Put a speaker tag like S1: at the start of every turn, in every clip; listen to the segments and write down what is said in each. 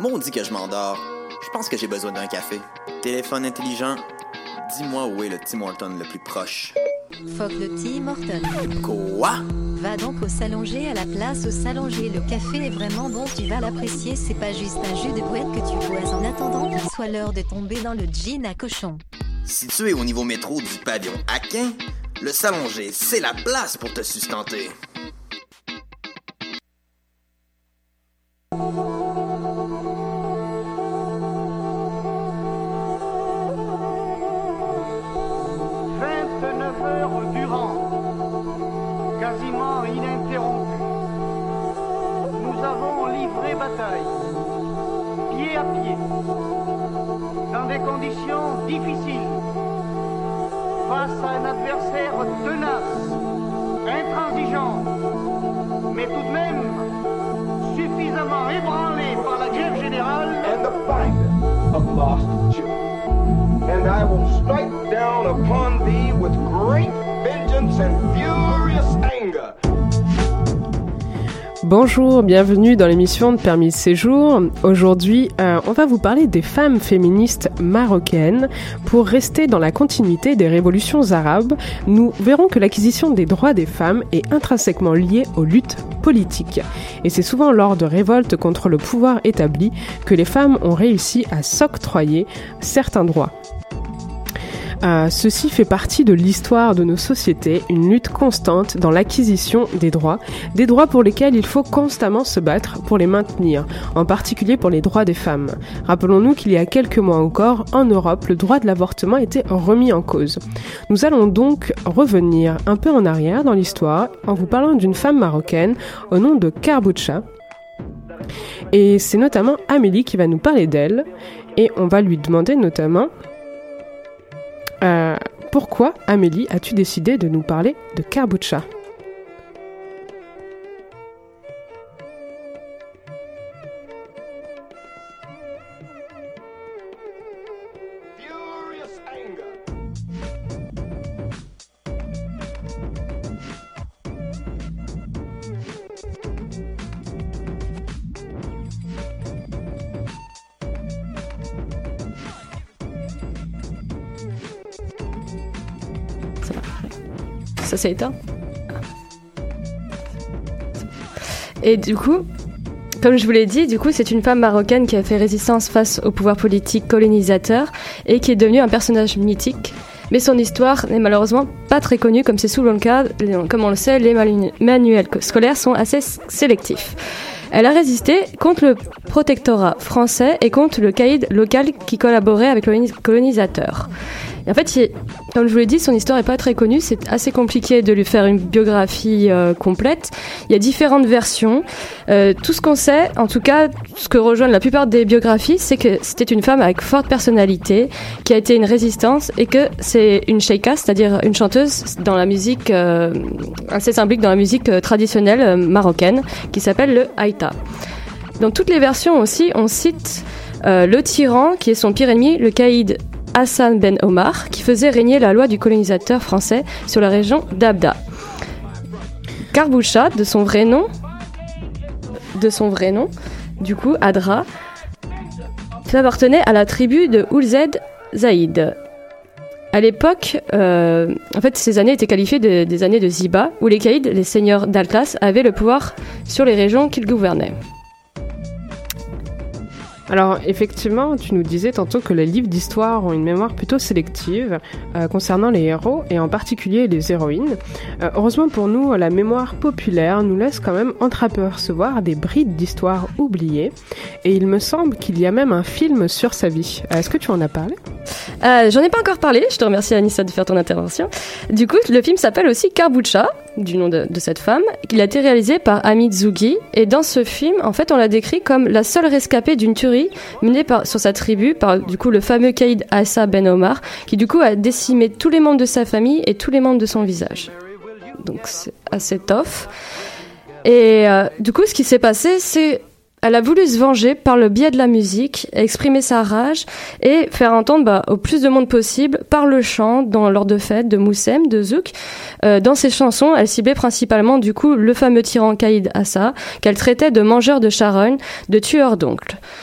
S1: maudit que je m'endors. Je pense que j'ai besoin d'un café. Téléphone intelligent, dis-moi où est le Tim Horton le plus proche.
S2: Fuck le Tim Horton.
S1: Quoi?
S2: Va donc au Salonger, à la place au Salonger. Le café est vraiment bon, tu vas l'apprécier. C'est pas juste un jus de boîte que tu bois en attendant qu'il soit l'heure de tomber dans le gin à cochon.
S1: Situé au niveau métro du pavillon Aquin, le Salonger, c'est la place pour te sustenter.
S3: Quasiment ininterrompu. Nous avons livré bataille, pied à pied, dans des conditions difficiles, face à un adversaire tenace, intransigeant, mais tout de même suffisamment ébranlé par la grève générale
S4: and the finder of lost children. And I will strike down upon thee with great vengeance and furious anger.
S5: Bonjour, bienvenue dans l'émission de Permis de séjour. Aujourd'hui, on va vous parler des femmes féministes marocaines. Pour rester dans la continuité des révolutions arabes, nous verrons que l'acquisition des droits des femmes est intrinsèquement liée aux luttes politiques. Et c'est souvent lors de révoltes contre le pouvoir établi que les femmes ont réussi à s'octroyer certains droits. Ceci fait partie de l'histoire de nos sociétés, une lutte constante dans l'acquisition des droits pour lesquels il faut constamment se battre pour les maintenir, en particulier pour les droits des femmes. Rappelons-nous qu'il y a quelques mois encore, en Europe, le droit de l'avortement était remis en cause. Nous allons donc revenir un peu en arrière dans l'histoire en vous parlant d'une femme marocaine au nom de Karboucha. Et c'est notamment Amélie qui va nous parler d'elle, et on va lui demander notamment... pourquoi, Amélie, as-tu décidé de nous parler de Karboucha ?
S6: Ça s'est éteint. Et du coup, comme je vous l'ai dit, c'est une femme marocaine qui a fait résistance face au pouvoir politique colonisateur et qui est devenue un personnage mythique. Mais son histoire n'est malheureusement pas très connue, comme c'est souvent le cas. Comme on le sait, les manuels scolaires sont assez sélectifs. Elle a résisté contre le protectorat français et contre le caïd local qui collaborait avec le colonisateur. Et en fait, comme je vous l'ai dit, son histoire n'est pas très connue. C'est assez compliqué de lui faire une biographie complète. Il y a différentes versions. Tout ce qu'on sait, en tout cas, ce que rejoignent la plupart des biographies, c'est que c'était une femme avec forte personnalité, qui a été une résistance et que c'est une sheikha, c'est-à-dire une chanteuse dans la musique, assez symbolique dans la musique traditionnelle marocaine, qui s'appelle le haïta. Dans toutes les versions aussi, on cite le tyran, qui est son pire ennemi, le caïd Hassan Ben Omar, qui faisait régner la loi du colonisateur français sur la région d'Abda. Karboucha, de son vrai nom, du coup, Adra, appartenait à la tribu de Oulzed Zaïd. À l'époque, en fait, ces années étaient qualifiées des années de Ziba, où les caïds, les seigneurs d'Al-Khas, avaient le pouvoir sur les régions qu'ils gouvernaient.
S5: Alors effectivement, tu nous disais tantôt que les livres d'histoire ont une mémoire plutôt sélective concernant les héros et en particulier les héroïnes. Heureusement pour nous, la mémoire populaire nous laisse quand même entreapercevoir des brides d'histoire oubliées et il me semble qu'il y a même un film sur sa vie. Est-ce que tu en as parlé ?
S6: J'en ai pas encore parlé, je te remercie Anissa de faire ton intervention. Du coup, le film s'appelle aussi Karboucha, du nom de cette femme. Il a été réalisé par Hamid Zougui et dans ce film, en fait, on la décrit comme la seule rescapée d'une tuerie menée sur sa tribu par du coup le fameux caïd Hassan Ben Omar, qui du coup a décimé tous les membres de sa famille et tous les membres de son village. Donc c'est assez tough. Et du coup, ce qui s'est passé, c'est elle a voulu se venger par le biais de la musique, exprimer sa rage et faire entendre au plus de monde possible par le chant lors de fêtes de Moussem, de Zouk. Dans ses chansons, elle ciblait principalement du coup le fameux tyran Caïd Assa, qu'elle traitait de mangeur de charognes, de tueur d'oncles.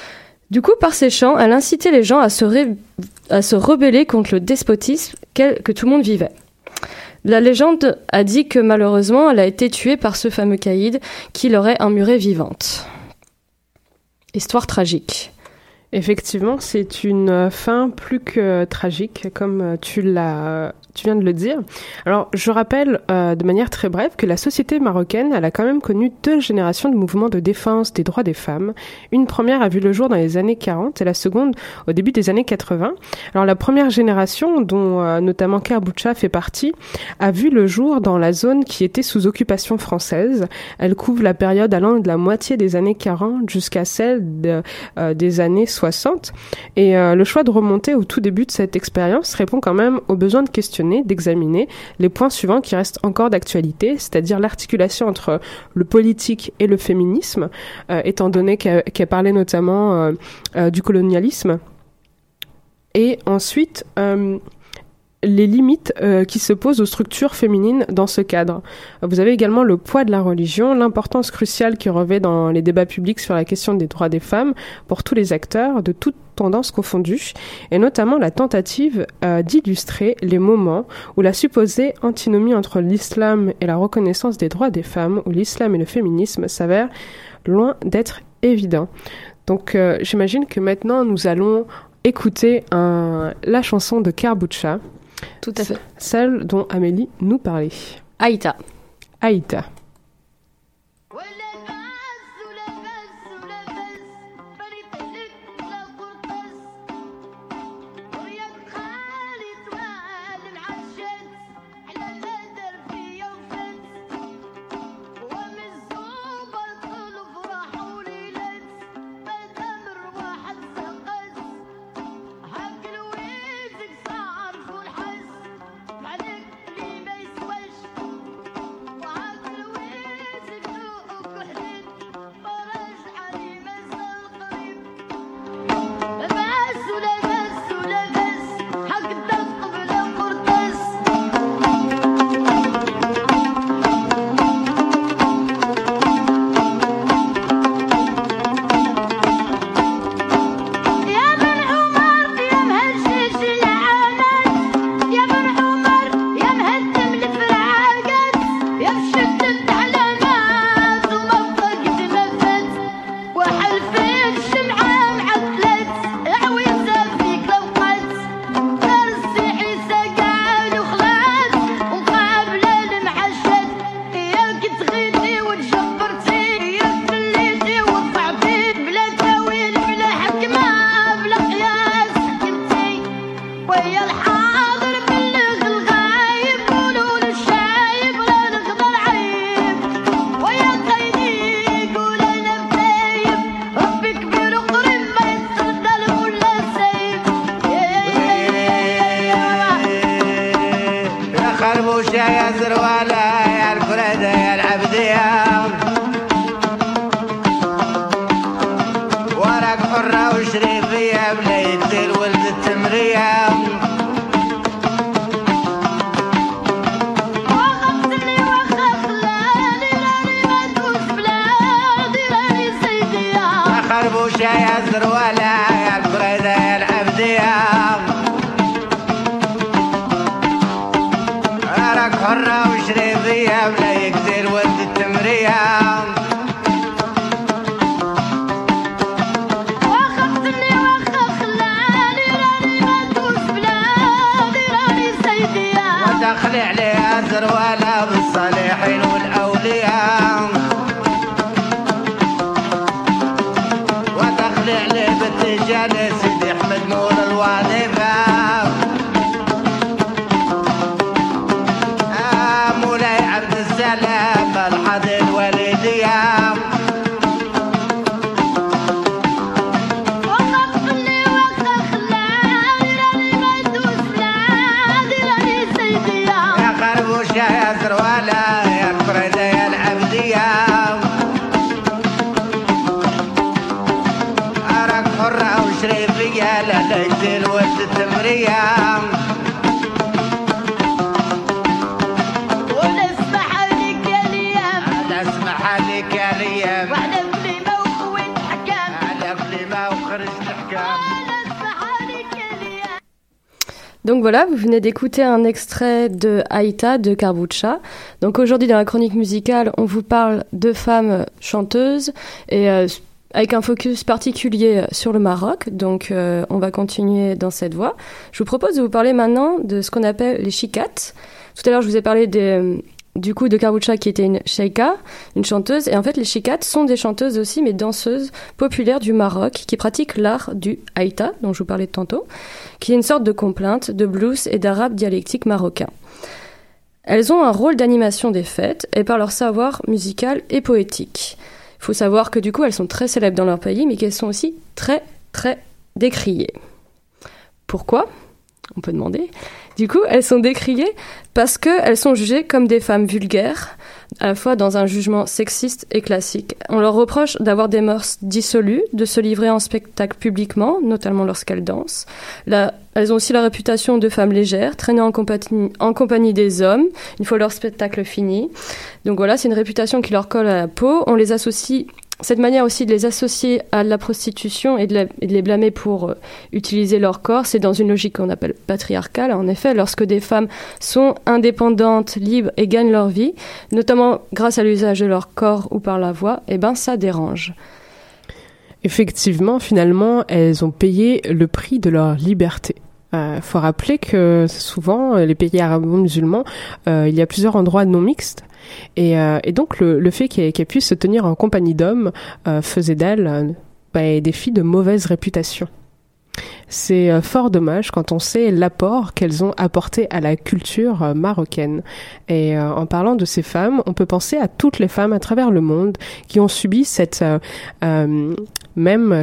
S6: Du coup, par ses chants, elle incitait les gens à se rebeller contre le despotisme que tout le monde vivait. La légende a dit que malheureusement, elle a été tuée par ce fameux caïd qui l'aurait emmurée vivante. Histoire tragique.
S5: Effectivement, c'est une fin plus que tragique, comme tu viens de le dire. Alors, je rappelle de manière très brève que la société marocaine, elle a quand même connu 2 générations de mouvements de défense des droits des femmes. Une première a vu le jour dans les années 40 et la seconde au début des années 80. Alors, la première génération, dont notamment Karboucha fait partie, a vu le jour dans la zone qui était sous occupation française. Elle couvre la période allant de la moitié des années 40 jusqu'à celle des années 60. Et le choix de remonter au tout début de cette expérience répond quand même aux besoins de questionner, d'examiner les points suivants qui restent encore d'actualité, c'est-à-dire l'articulation entre le politique et le féminisme, étant donné qu'elle parlait notamment du colonialisme. Et ensuite, les limites qui se posent aux structures féminines dans ce cadre. Vous avez également le poids de la religion, l'importance cruciale qui revêt dans les débats publics sur la question des droits des femmes pour tous les acteurs, de toutes tendances confondues, et notamment la tentative d'illustrer les moments où la supposée antinomie entre l'islam et la reconnaissance des droits des femmes, où l'islam et le féminisme s'avèrent loin d'être évidents. Donc j'imagine que maintenant nous allons écouter la chanson de Karboucha.
S6: Tout à fait.
S5: Celle dont Amélie nous parlait.
S6: Aïta.
S5: Aïta.
S7: واحدة بليمة وخوين حكام على بليمة وخرج
S6: Donc voilà, vous venez d'écouter un extrait de Aïta de Karbucha. Donc aujourd'hui dans la chronique musicale, on vous parle de femmes chanteuses et avec un focus particulier sur le Maroc. Donc on va continuer dans cette voie. Je vous propose de vous parler maintenant de ce qu'on appelle les chikates. Tout à l'heure, je vous ai parlé du coup de Karbucha qui était une sheikha, une chanteuse. Et en fait, les chikates sont des chanteuses aussi, mais danseuses populaires du Maroc qui pratiquent l'art du haïta, dont je vous parlais tantôt, qui est une sorte de complainte, de blues et d'arabe dialectique marocain. Elles ont un rôle d'animation des fêtes et par leur savoir musical et poétique. Il faut savoir que du coup, elles sont très célèbres dans leur pays, mais qu'elles sont aussi très, très décriées. Pourquoi ? On peut demander. Du coup, elles sont décriées parce qu'elles sont jugées comme des femmes vulgaires, à la fois dans un jugement sexiste et classique. On leur reproche d'avoir des mœurs dissolues, de se livrer en spectacle publiquement, notamment lorsqu'elles dansent. Elles ont aussi la réputation de femmes légères, traînées en compagnie des hommes, une fois leur spectacle fini. Donc voilà, c'est une réputation qui leur colle à la peau. On les associe... Cette manière aussi de les associer à la prostitution et de les blâmer pour utiliser leur corps, c'est dans une logique qu'on appelle patriarcale. En effet, lorsque des femmes sont indépendantes, libres et gagnent leur vie, notamment grâce à l'usage de leur corps ou par la voix, eh ben ça dérange.
S5: Effectivement, finalement, elles ont payé le prix de leur liberté. Faut rappeler que souvent, les pays arabo-musulmans, il y a plusieurs endroits non mixtes. Et donc, le fait qu'elles puissent se tenir en compagnie d'hommes faisait d'elles des filles de mauvaise réputation. C'est fort dommage quand on sait l'apport qu'elles ont apporté à la culture marocaine. Et en parlant de ces femmes, on peut penser à toutes les femmes à travers le monde qui ont subi cette même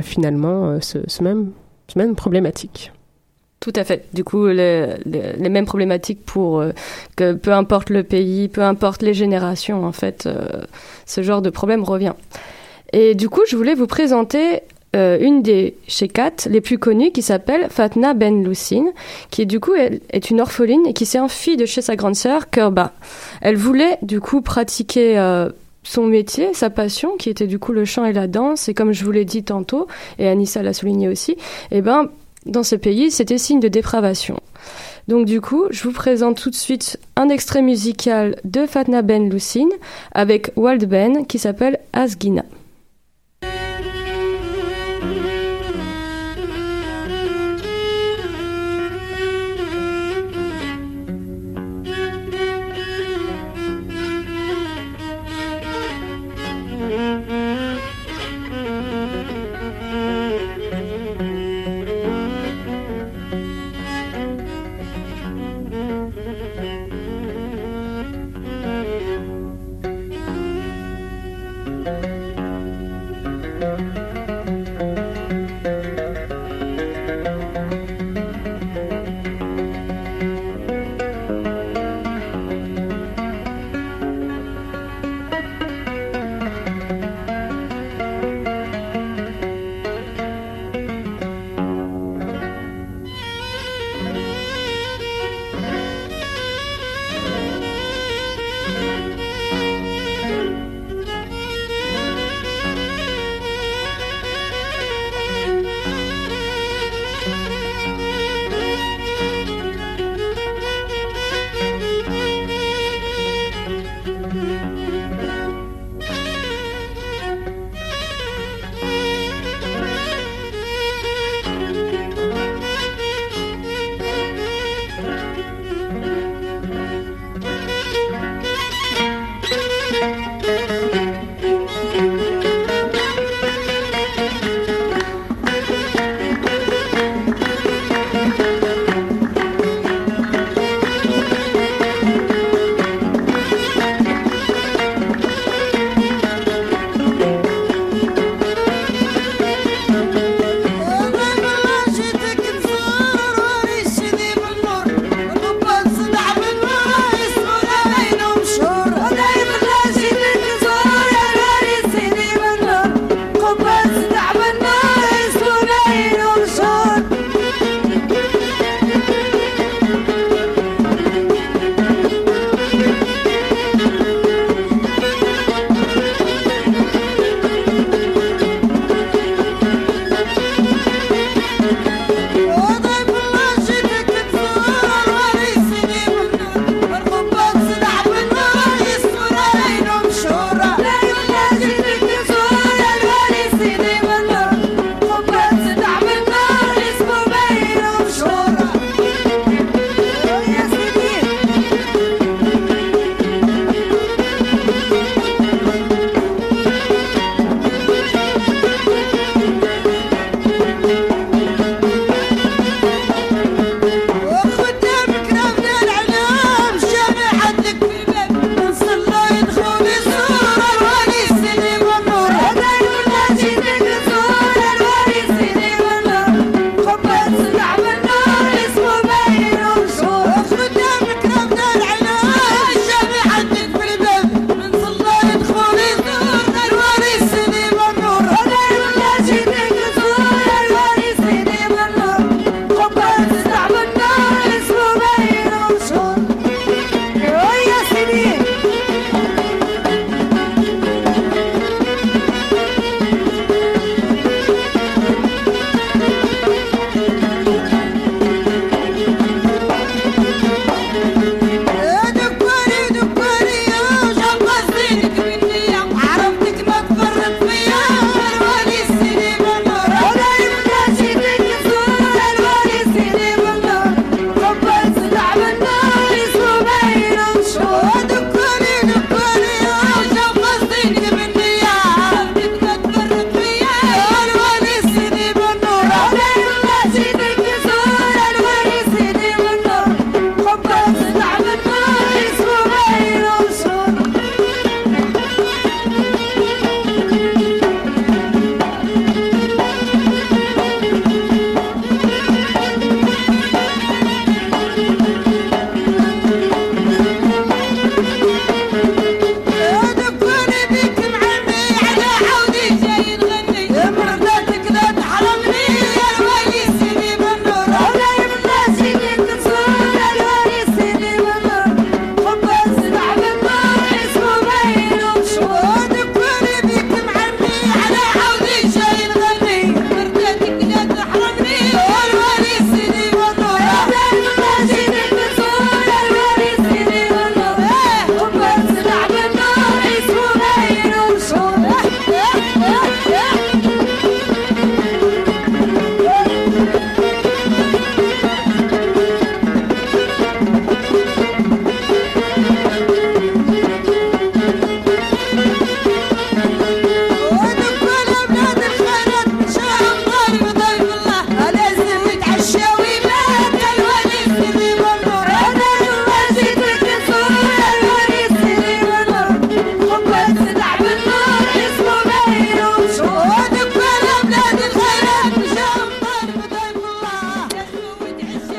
S5: problématique.
S6: Tout à fait. Du coup, les mêmes problématiques pour que peu importe le pays, peu importe les générations, en fait, ce genre de problème revient. Et du coup, je voulais vous présenter une des sheikhates les plus connues qui s'appelle Fatna Ben Loussine, qui du coup est une orpheline et qui s'est enfuie de chez sa grande sœur Kerba. Elle voulait du coup pratiquer son métier, sa passion, qui était du coup le chant et la danse. Et comme je vous l'ai dit tantôt, et Anissa l'a souligné aussi, dans ces pays, c'était signe de dépravation. Donc du coup, je vous présente tout de suite un extrait musical de Fatna Ben Loussine avec Wald Ben qui s'appelle Asgina.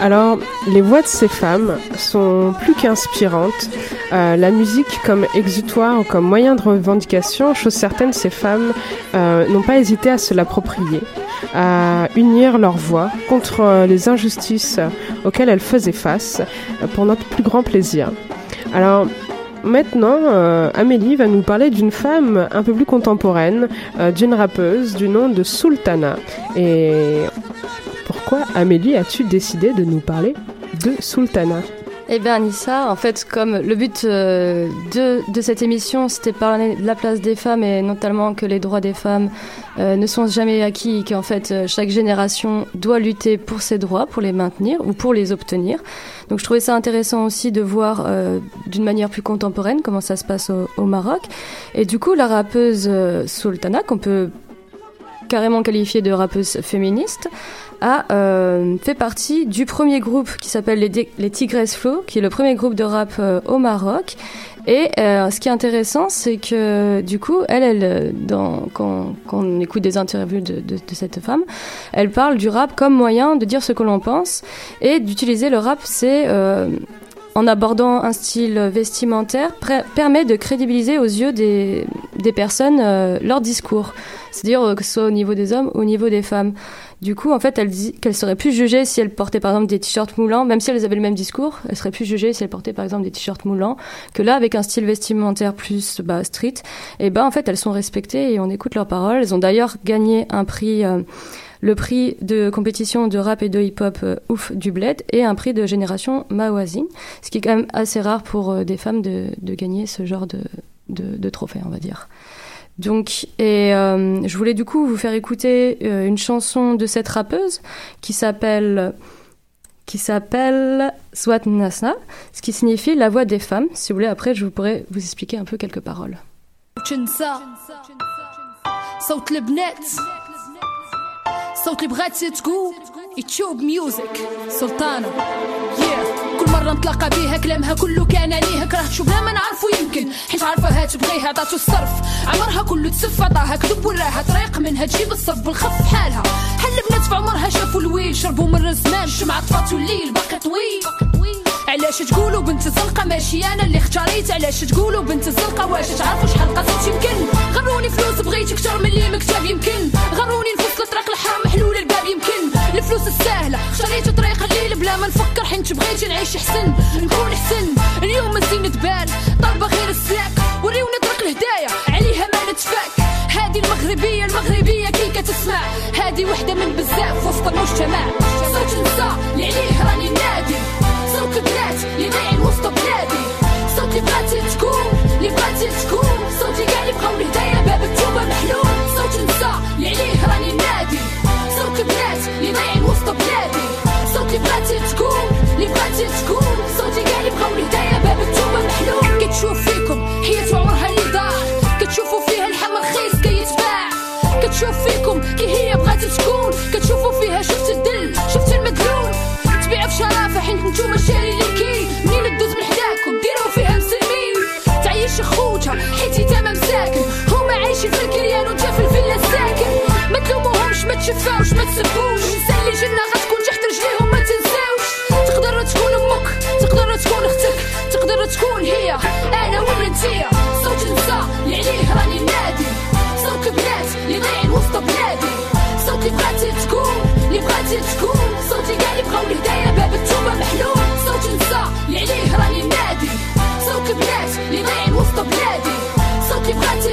S5: Alors, les voix de ces femmes sont plus qu'inspirantes. La musique comme exutoire ou comme moyen de revendication, chose certaine, ces femmes n'ont pas hésité à se l'approprier, à unir leur voix contre les injustices auxquelles elles faisaient face pour notre plus grand plaisir. Alors, maintenant, Amélie va nous parler d'une femme un peu plus contemporaine, d'une rappeuse du nom de Sultana. Et pourquoi, Amélie, as-tu décidé de nous parler de Sultana ?
S6: Eh bien Anissa, en fait, comme le but de cette émission, c'était parler de la place des femmes et notamment que les droits des femmes ne sont jamais acquis et qu'en fait, chaque génération doit lutter pour ses droits, pour les maintenir ou pour les obtenir. Donc je trouvais ça intéressant aussi de voir d'une manière plus contemporaine comment ça se passe au Maroc. Et du coup, la rappeuse Sultana, qu'on peut carrément qualifiée de rappeuse féministe, a fait partie du premier groupe qui s'appelle les Tigresses Flow, qui est le premier groupe de rap au Maroc. Et ce qui est intéressant, c'est que du coup, quand on écoute des interviews de cette femme, elle parle du rap comme moyen de dire ce que l'on pense et d'utiliser le rap, c'est en abordant un style vestimentaire, permet de crédibiliser aux yeux des personnes leur discours. C'est-à-dire que ce soit au niveau des hommes ou au niveau des femmes. Du coup, en fait, elle dit qu'elle serait plus jugée si elle portait, par exemple, des t-shirts moulants. Même si elles avaient le même discours, elle serait plus jugée si elle portait, par exemple, des t-shirts moulants. Que là, avec un style vestimentaire plus street, en fait, elles sont respectées et on écoute leurs paroles. Elles ont d'ailleurs gagné un prix... le prix de compétition de rap et de hip-hop Ouf du Bled et un prix de génération Mawazine, ce qui est quand même assez rare pour des femmes de gagner ce genre de trophée, on va dire. Donc, je voulais du coup vous faire écouter une chanson de cette rappeuse qui s'appelle Swat Nasa, ce qui signifie la voix des femmes. Si vous voulez, après, je pourrais vous expliquer un peu quelques paroles.
S7: صوت اللي بغات تقول يتشوب ميوزك سلطانة كل مرة نتلاقى بيها كلامها كله كان ليها كرهت شو بلا ما نعرفو يمكن حيت عارفاها تبغيها عطاتو الصرف عمرها كله تسف عطاها كذب وراها طريق منها تجيب الصرف بالخف حالها حل بنات في عمرها شافوا الويل شربوا من الزمان الشمعة طفاتو الليل باقي طويل علاش تقولوا بنت الزنقة ماشي انا اللي اختاريت علاش تقولوا بنت الزنقة واش تعرفوا شحال قصيت يمكن غروني فلوس بغيت اكثر من اللي مكتاب يمكن غروني نفصل طريق الحرام محلول الباب يمكن الفلوس السهلة اختاريت طريق الليل بلا ما نفكر حيت بغيت نعيش حسن نكون حسن اليوم الزين تبان طالبة غير السلاك وريونا طريق الهدايا عليها ما نتفاك هذه المغربية كي كتسمع هذه وحدة من بزاف وسط المجتمع صوت نساء اللي عليه راني نادي صوت بنات اللي ضايعين وسط بلادي صوت اللي بغاتي تكون صوتي كاع اللي بقاو الهدايا باب التوبة محلول صوت نساء اللي عليه راني نادي صوت بنات اللي ضايعين وسط بلادي صوت اللي بغاتي تكون صوتي كاع اللي بقاو الهدايا باب التوبة محلول كتشوف فيكم حياة عمرها اللي ضاع كتشوفوا فيها اللحم رخيص كيتباع كتشوف فيكم كي هي بغات تكون كتشوفوا فيها شفت الدل شفت المدلول تبيع بشرافة حيت نتوما شاري ليكي منين تدوز من حداكم ديروا فيها مسلمين تعيش خوتها حيت يتامى مساكن هما عايشين في الكريان وانت في الفيلا ساكن ما تلوموهمش ما تشفاوش ما تسبوش الانسان اللي جنة غتكون تحت رجليهم ما تنساوش تقدر تكون امك تقدر تكون اختك تقدر تكون هي انا ولا انتيا صوت نساء اللي عليه راني نادي صوت بنات اللي ضايعين وسط بلادي صوت اللي بغاتي تكون صوتي كاع اللي بقاو الهدايا باب التوبة محلول صوت نساء اللي عليه راني نادي صوت بنات اللي ضايعين وسط بلادي صوت اللي بغاتي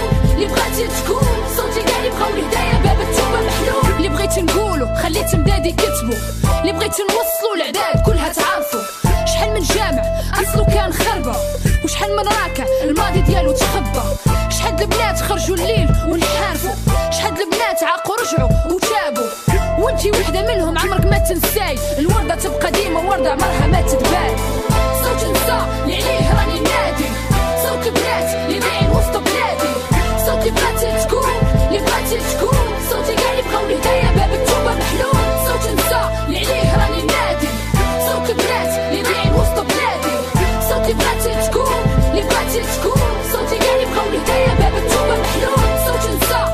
S7: تكون صوتي كاع اللي بقاو الهدايا باب التوبة محلول اللي بغيت نقولو خليت مدادي كتبو اللي بغيت نوصلو العداد كلها تعرفو شحال من جامع اصلو كان خربة وشحال من راكع الماضي ديالو تخبى شحال البنات خرجوا الليل ونحارفوا شحال البنات عاقوا رجعوا وتابوا وانتي وحده منهم عمرك ما تنساي الورده تبقى ديما ورده عمرها ما تتبان صوت نساء اللي عليه راني نادي صوت بنات اللي ضايعين وسط بلادي صوت اللي بغاتي تكون صوتي كاع اللي بقاو الهدايا باب التوبه محلول صوت نساء اللي عليه راني نادي صوت بنات اللي ضايعين وسط بلادي صوت اللي بغاتي تكون صوتي كاع اللي بقاو الهدايا باب التوبه محلول صوت نساء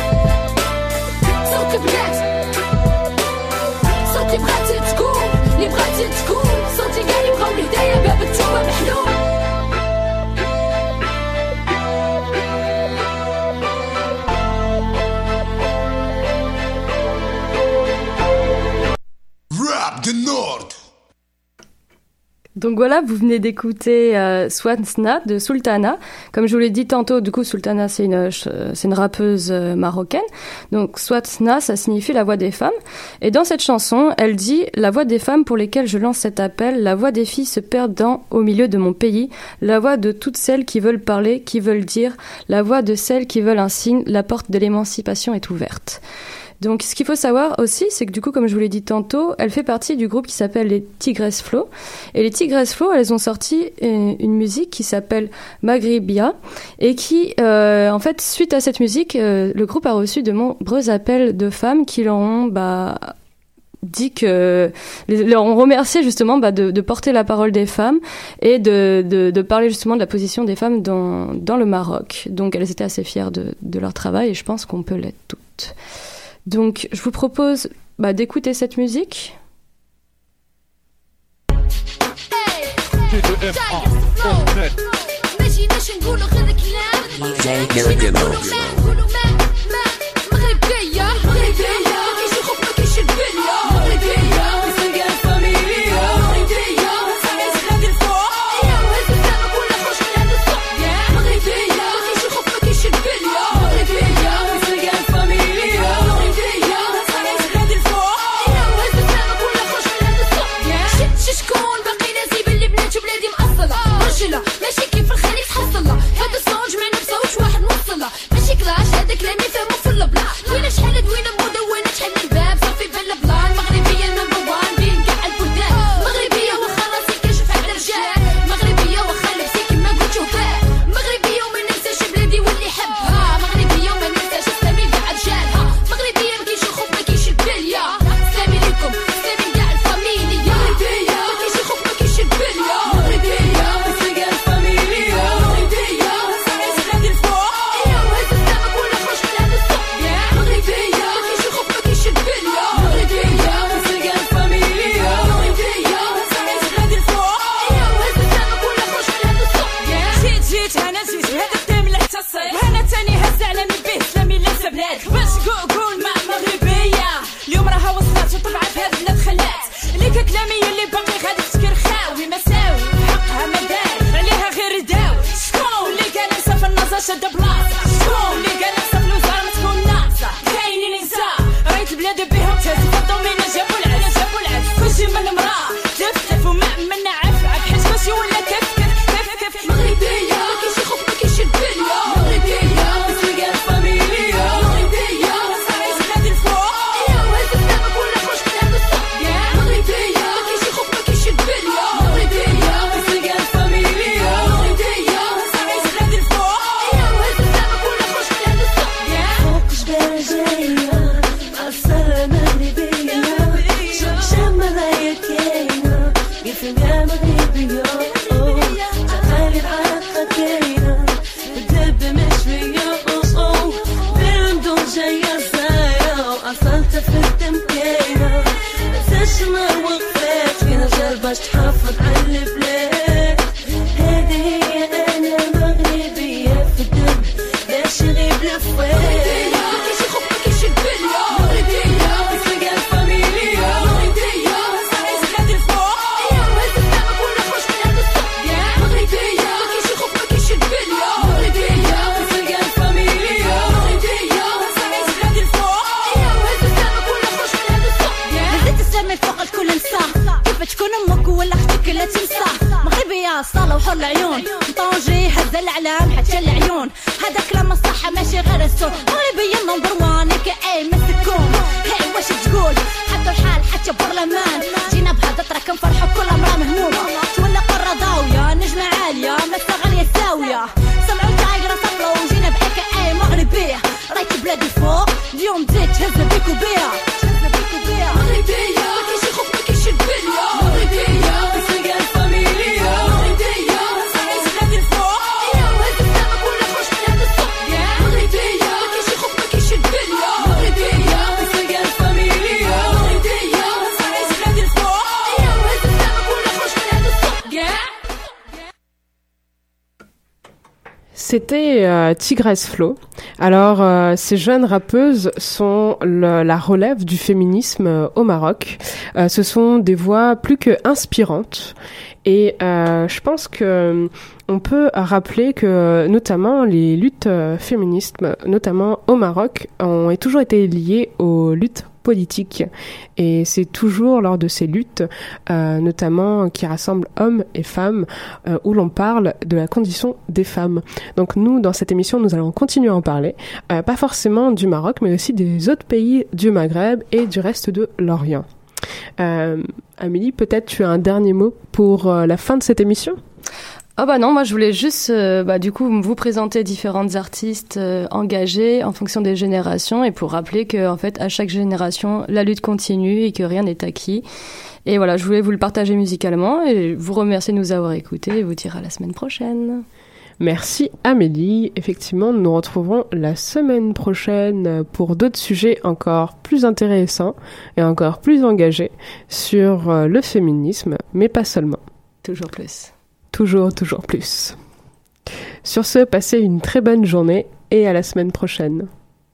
S7: صوت بنات صوت اللي بغاتي
S6: Donc voilà, vous venez d'écouter Swansna de Sultana. Comme je vous l'ai dit tantôt, du coup, Sultana, c'est une rappeuse marocaine. Donc Swansna, ça signifie la voix des femmes. Et dans cette chanson, elle dit « La voix des femmes pour lesquelles je lance cet appel, la voix des filles se perdant au milieu de mon pays, la voix de toutes celles qui veulent parler, qui veulent dire, la voix de celles qui veulent un signe, la porte de l'émancipation est ouverte. » Donc, ce qu'il faut savoir aussi, c'est que du coup, comme je vous l'ai dit tantôt, elle fait partie du groupe qui s'appelle les Tigresses Flow. Et les Tigresses Flow, elles ont sorti une musique qui s'appelle Maghribia et qui, en fait, suite à cette musique, le groupe a reçu de nombreux appels de femmes qui leur ont, dit que leur ont remercié justement de porter la parole des femmes et de parler justement de la position des femmes dans le Maroc. Donc, elles étaient assez fières de leur travail et je pense qu'on peut l'être toutes. Donc, je vous propose d'écouter cette musique.
S7: ماشي كيف الخليج حصلها هذا الصوت جمع نفسه وش واحد موصلها ماشي كلاش هذا كلامي فهمو في البلا وين شحال دوينه مدونه شحال من باب صافي بلا بلان مغربيه نمبر 1 بين كاع البلدان مغربيه واخا راسي كنشوف على الرجال مغربيه واخا لبسي كيما قلت شوفات مغربيه وما ننساش بلادي واللي حبها مغربيه وما ننساش سلامي كاع رجالها مغربيه ما كاينش الخوف ما كاينش البليه سلامي ليكم سلامي كاع الفاميليا مغربيه ما كاينش الخوف ما كاينش البليه مغربيه كلامي اللي باقي غادي تكرخاوي مساوي حقها ما دار عليها غير داوي شكون اللي قال نسى في النظر شد بلاصه شكون اللي قال نسى في الوزاره ما تكون ناقصه كاينين نساء رايت البلاد بهم تهز الضمينه جابوا العدس كلشي من المراه تف وما منا عف حيت كلشي ولا كيف مغربيه ما كاينش خوف ما كاينش الدنيا مغربيه مسلقه الفاميليا مغربيه صاريت غادي الفوق يا وهز السما كلها خوش كلام الصح مغربيه باش تحافظ على البلاد هذه هي انا مغربيه في الدم باش يغيب الفواد ماكاينش خوف ماكاينش البليه مغربيه مسلقه الفاميليا مغربيه صاريت غادي الفوق يا وهز السما كلها خوش كلام الصح مغربيه ماكاينش خوف ماكاينش البليه مغربيه مسلقه الفاميليا مغربيه صاريت غادي الفوق يا وهز السما كلها خوش كلام الصح هزيت السما فوق الكل نساء تكون امك ولا اختك لا تنسى مغربيه صاله وحر العيون طنجي هز الاعلام حتى العيون هذا كلام الصحه ماشي غير السوق مغربيه نمبر 1 اي مسكون هاي واش تقول حتى الحال حتى برلمان جينا بهضره كنفرحوا كل امراه مهمومه تولى قره ضاويه نجمه عاليه مسا غاليه الزاويه سمعوا تايقره صفلو وجينا اي مغربيه رايت بلادي فوق اليوم زيد تهز بيكو بيها مغربيه ما كاينش خوف ما كاينش البليه مغربيه مسلقه الفاميليا مغربيه صاريت غادي الفوق يا وهز السما كلها خوش كلام الصح مغربيه ما كاينش خوف ما كاينش البليه مغربيه مسلقه الفاميليا مغربيه صاريت غادي الفوق يا وهز السما كلها خوش كلام الصح
S5: C'était Tigress Flow. Alors, ces jeunes rappeuses sont la relève du féminisme au Maroc. Ce sont des voix plus que inspirantes. Et je pense que on peut rappeler que notamment les luttes féministes, notamment au Maroc, ont toujours été liées aux luttes politiques. Et c'est toujours lors de ces luttes, notamment qui rassemblent hommes et femmes, où l'on parle de la condition des femmes. Donc nous, dans cette émission, nous allons continuer à en parler, pas forcément du Maroc, mais aussi des autres pays du Maghreb et du reste de l'Orient. Amélie, peut-être tu as un dernier mot pour la fin de cette émission ?
S6: Ah bah non, moi je voulais juste du coup vous présenter différentes artistes engagés en fonction des générations et pour rappeler que en fait à chaque génération la lutte continue et que rien n'est acquis. Et voilà, je voulais vous le partager musicalement et vous remercier de nous avoir écoutés et vous dire à la semaine prochaine.
S5: Merci Amélie. Effectivement, nous nous retrouverons la semaine prochaine pour d'autres sujets encore plus intéressants et encore plus engagés sur le féminisme, mais pas seulement.
S6: Toujours plus.
S5: Toujours plus. Sur ce, passez une très bonne journée et à la semaine prochaine.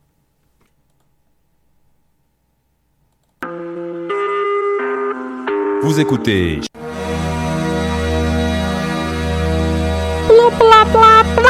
S8: Vous écoutez.
S5: Bla bla bla.